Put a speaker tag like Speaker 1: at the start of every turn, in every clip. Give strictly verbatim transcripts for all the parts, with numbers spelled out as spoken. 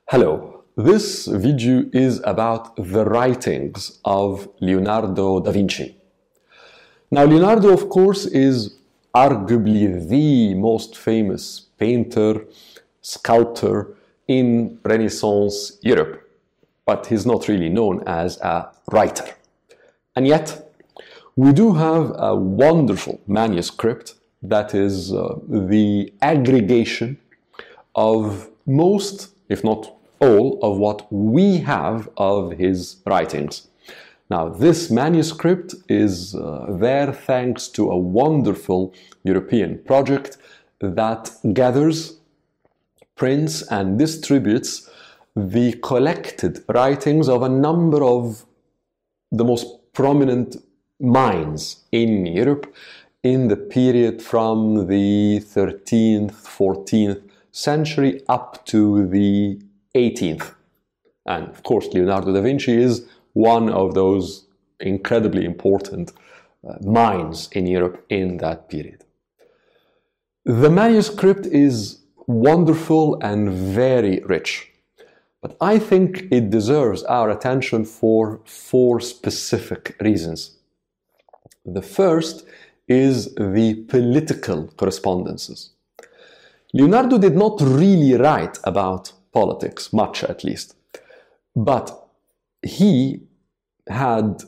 Speaker 1: Hello, this video is about the writings of Leonardo da Vinci. Now, Leonardo, of course, is arguably the most famous painter, sculptor in Renaissance Europe, but he's not really known as a writer. And yet, we do have a wonderful manuscript that is uh, the aggregation of most, if not all, of what we have of his writings. Now, this manuscript is uh, there thanks to a wonderful European project that gathers, prints, and distributes the collected writings of a number of the most prominent minds in Europe in the period from the thirteenth, fourteenth century up to the eighteenth. And of course, Leonardo da Vinci is one of those incredibly important uh, minds in Europe in that period. The manuscript is wonderful and very rich, but I think it deserves our attention for four specific reasons. The first is the political correspondences. Leonardo did not really write about politics, much at least, but he had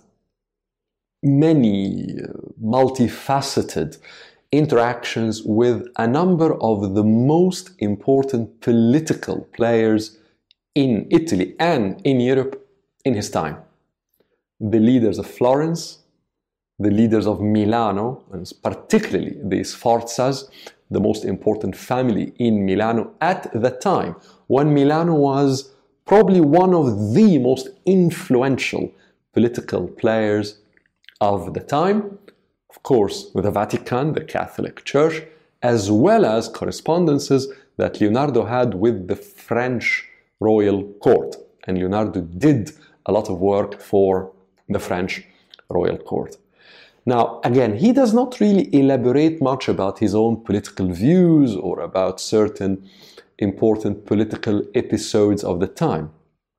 Speaker 1: many multifaceted interactions with a number of the most important political players in Italy and in Europe in his time. The leaders of Florence, the leaders of Milano, and particularly the Sforzas, the most important family in Milano at the time, when Milano was probably one of the most influential political players of the time, of course with the Vatican, the Catholic Church, as well as correspondences that Leonardo had with the French royal court. And Leonardo did a lot of work for the French royal court. Now, again, he does not really elaborate much about his own political views or about certain important political episodes of the time.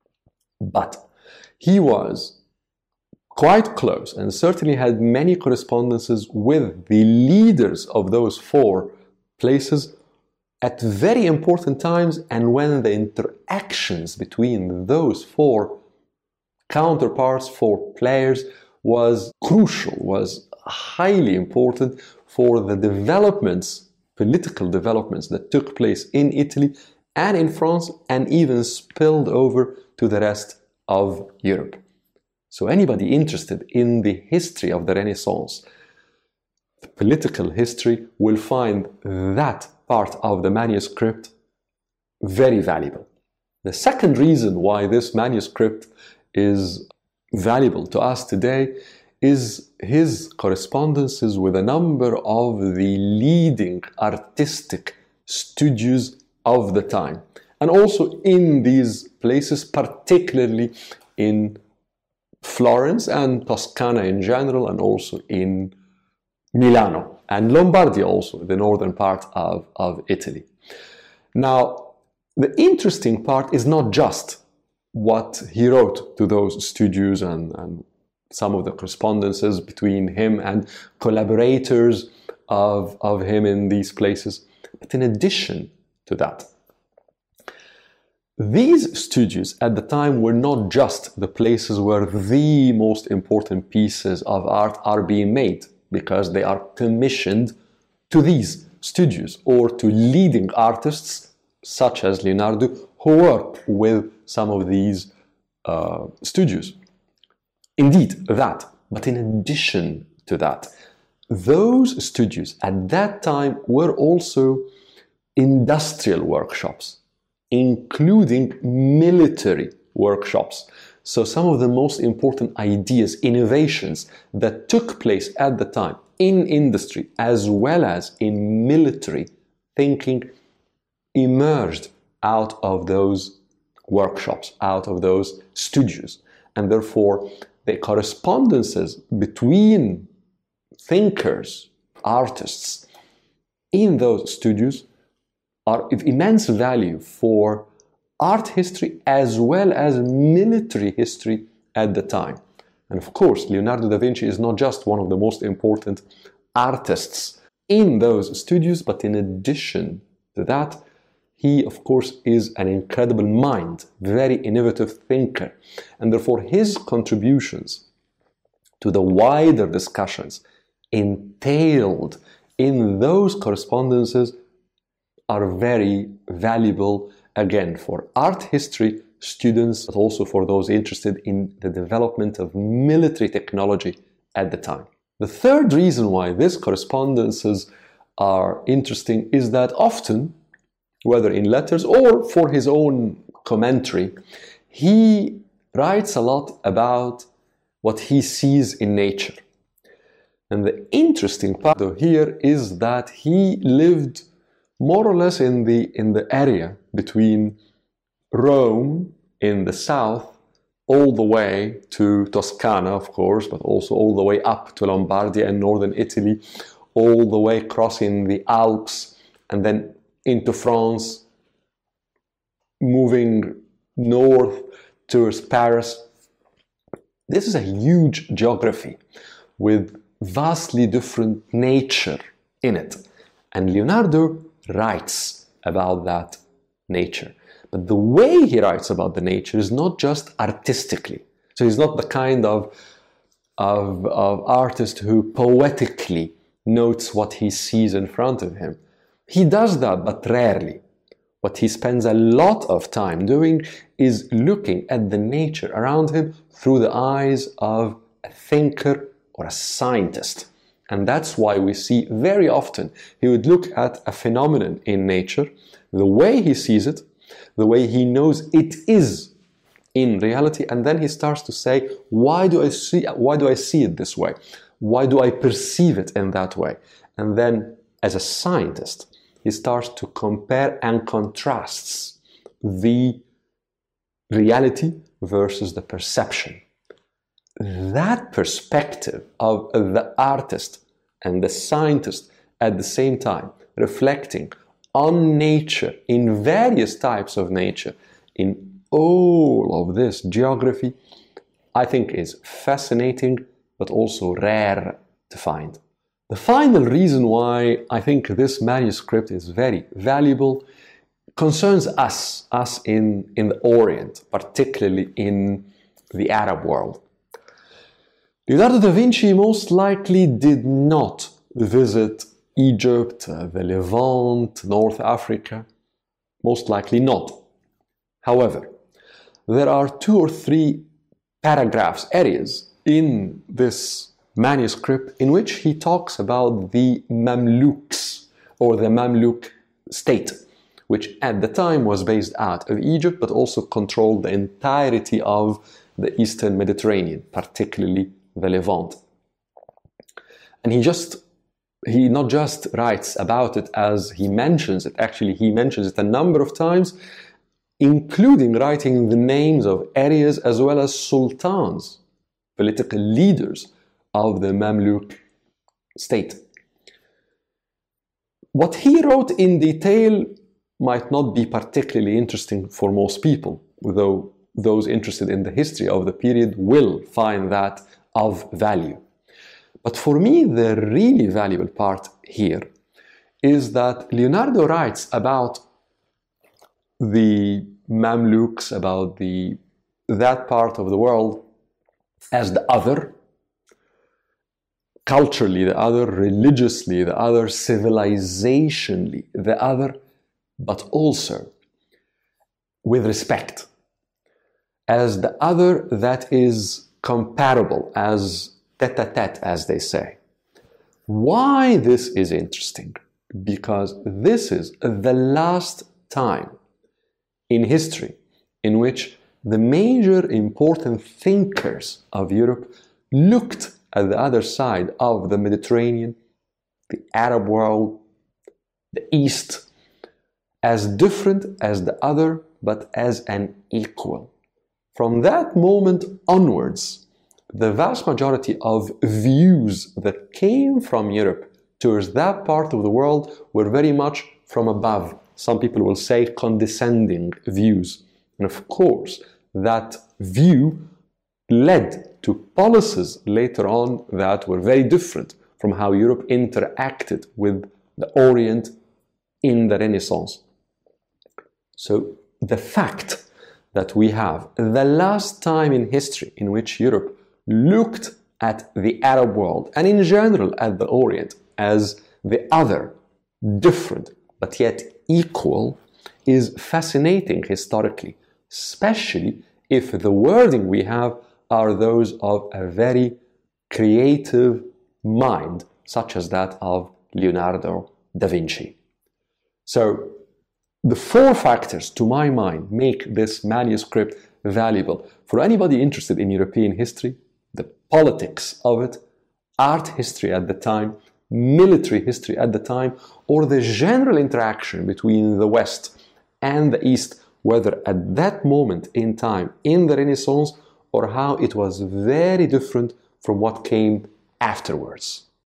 Speaker 1: But he was quite close and certainly had many correspondences with the leaders of those four places at very important times, and when the interactions between those four counterparts, four players, was crucial, was highly important for the developments, political developments that took place in Italy and in France, and even spilled over to the rest of Europe. So anybody interested in the history of the Renaissance, the political history, will find that part of the manuscript very valuable. The second reason why this manuscript is valuable to us today is his correspondences with a number of the leading artistic studios of the time, and also in these places, particularly in Florence and Toscana in general, and also in Milano and Lombardy, also the northern part of, of Italy. Now, the interesting part is not just what he wrote to those studios and, and some of the correspondences between him and collaborators of, of him in these places. But in addition to that, these studios at the time were not just the places where the most important pieces of art are being made, because they are commissioned to these studios or to leading artists such as Leonardo, who worked with some of these uh, studios. Indeed, that. But in addition to that, those studios at that time were also industrial workshops, including military workshops. So some of the most important ideas, innovations that took place at the time in industry as well as in military thinking emerged out of those workshops, out of those studios. And therefore, the correspondences between thinkers, artists in those studios are of immense value for art history as well as military history at the time. And of course, Leonardo da Vinci is not just one of the most important artists in those studios, but in addition to that, he, of course, is an incredible mind, very innovative thinker, and therefore his contributions to the wider discussions entailed in those correspondences are very valuable, again, for art history students, but also for those interested in the development of military technology at the time. The third reason why these correspondences are interesting is that often, whether in letters or for his own commentary, he writes a lot about what he sees in nature. And the interesting part here is that he lived more or less in the, in the area between Rome in the south all the way to Toscana, of course, but also all the way up to Lombardia and northern Italy, all the way crossing the Alps and then into France, moving north towards Paris. This is a huge geography with vastly different nature in it. And Leonardo writes about that nature. But the way he writes about the nature is not just artistically. So he's not the kind of, of, of artist who poetically notes what he sees in front of him. He does that, but rarely. What he spends a lot of time doing is looking at the nature around him through the eyes of a thinker or a scientist. And that's why we see very often he would look at a phenomenon in nature, the way he sees it, the way he knows it is in reality, and then he starts to say, why do I see, why do I see it this way? Why do I perceive it in that way? And then, as a scientist, he starts to compare and contrasts the reality versus the perception. That perspective of the artist and the scientist at the same time, reflecting on nature, in various types of nature, in all of this geography, I think is fascinating, but also rare to find. The final reason why I think this manuscript is very valuable concerns us, us in, in the Orient, particularly in the Arab world. Leonardo da Vinci most likely did not visit Egypt, uh, the Levant, North Africa, most likely not. However, there are two or three paragraphs, areas in this manuscript in which he talks about the Mamluks, or the Mamluk state, which at the time was based out of Egypt, but also controlled the entirety of the Eastern Mediterranean, particularly the Levant. And he just He not just writes about it as he mentions it, actually he mentions it a number of times, including writing the names of areas as well as sultans, political leaders of the Mamluk state. What he wrote in detail might not be particularly interesting for most people, though those interested in the history of the period will find that of value. But for me, the really valuable part here is that Leonardo writes about the Mamluks, about the, that part of the world as the other, culturally the other, religiously the other, civilizationally the other, but also with respect, as the other that is comparable, as tete-a-tete, as they say. Why this is interesting? Because this is the last time in history in which the major important thinkers of Europe looked at the other side of the Mediterranean, the Arab world, the East, as different as the other, but as an equal. From that moment onwards, the vast majority of views that came from Europe towards that part of the world were very much from above. Some people will say condescending views. And of course, that view led to policies later on that were very different from how Europe interacted with the Orient in the Renaissance. So the fact that we have the last time in history in which Europe looked at the Arab world and in general at the Orient as the other, different, but yet equal, is fascinating historically, especially if the wording we have are those of a very creative mind, such as that of Leonardo da Vinci. So, the four factors, to my mind, make this manuscript valuable for anybody interested in European history: the politics of it, art history at the time, military history at the time, or the general interaction between the West and the East, whether at that moment in time in the Renaissance or how it was very different from what came afterwards.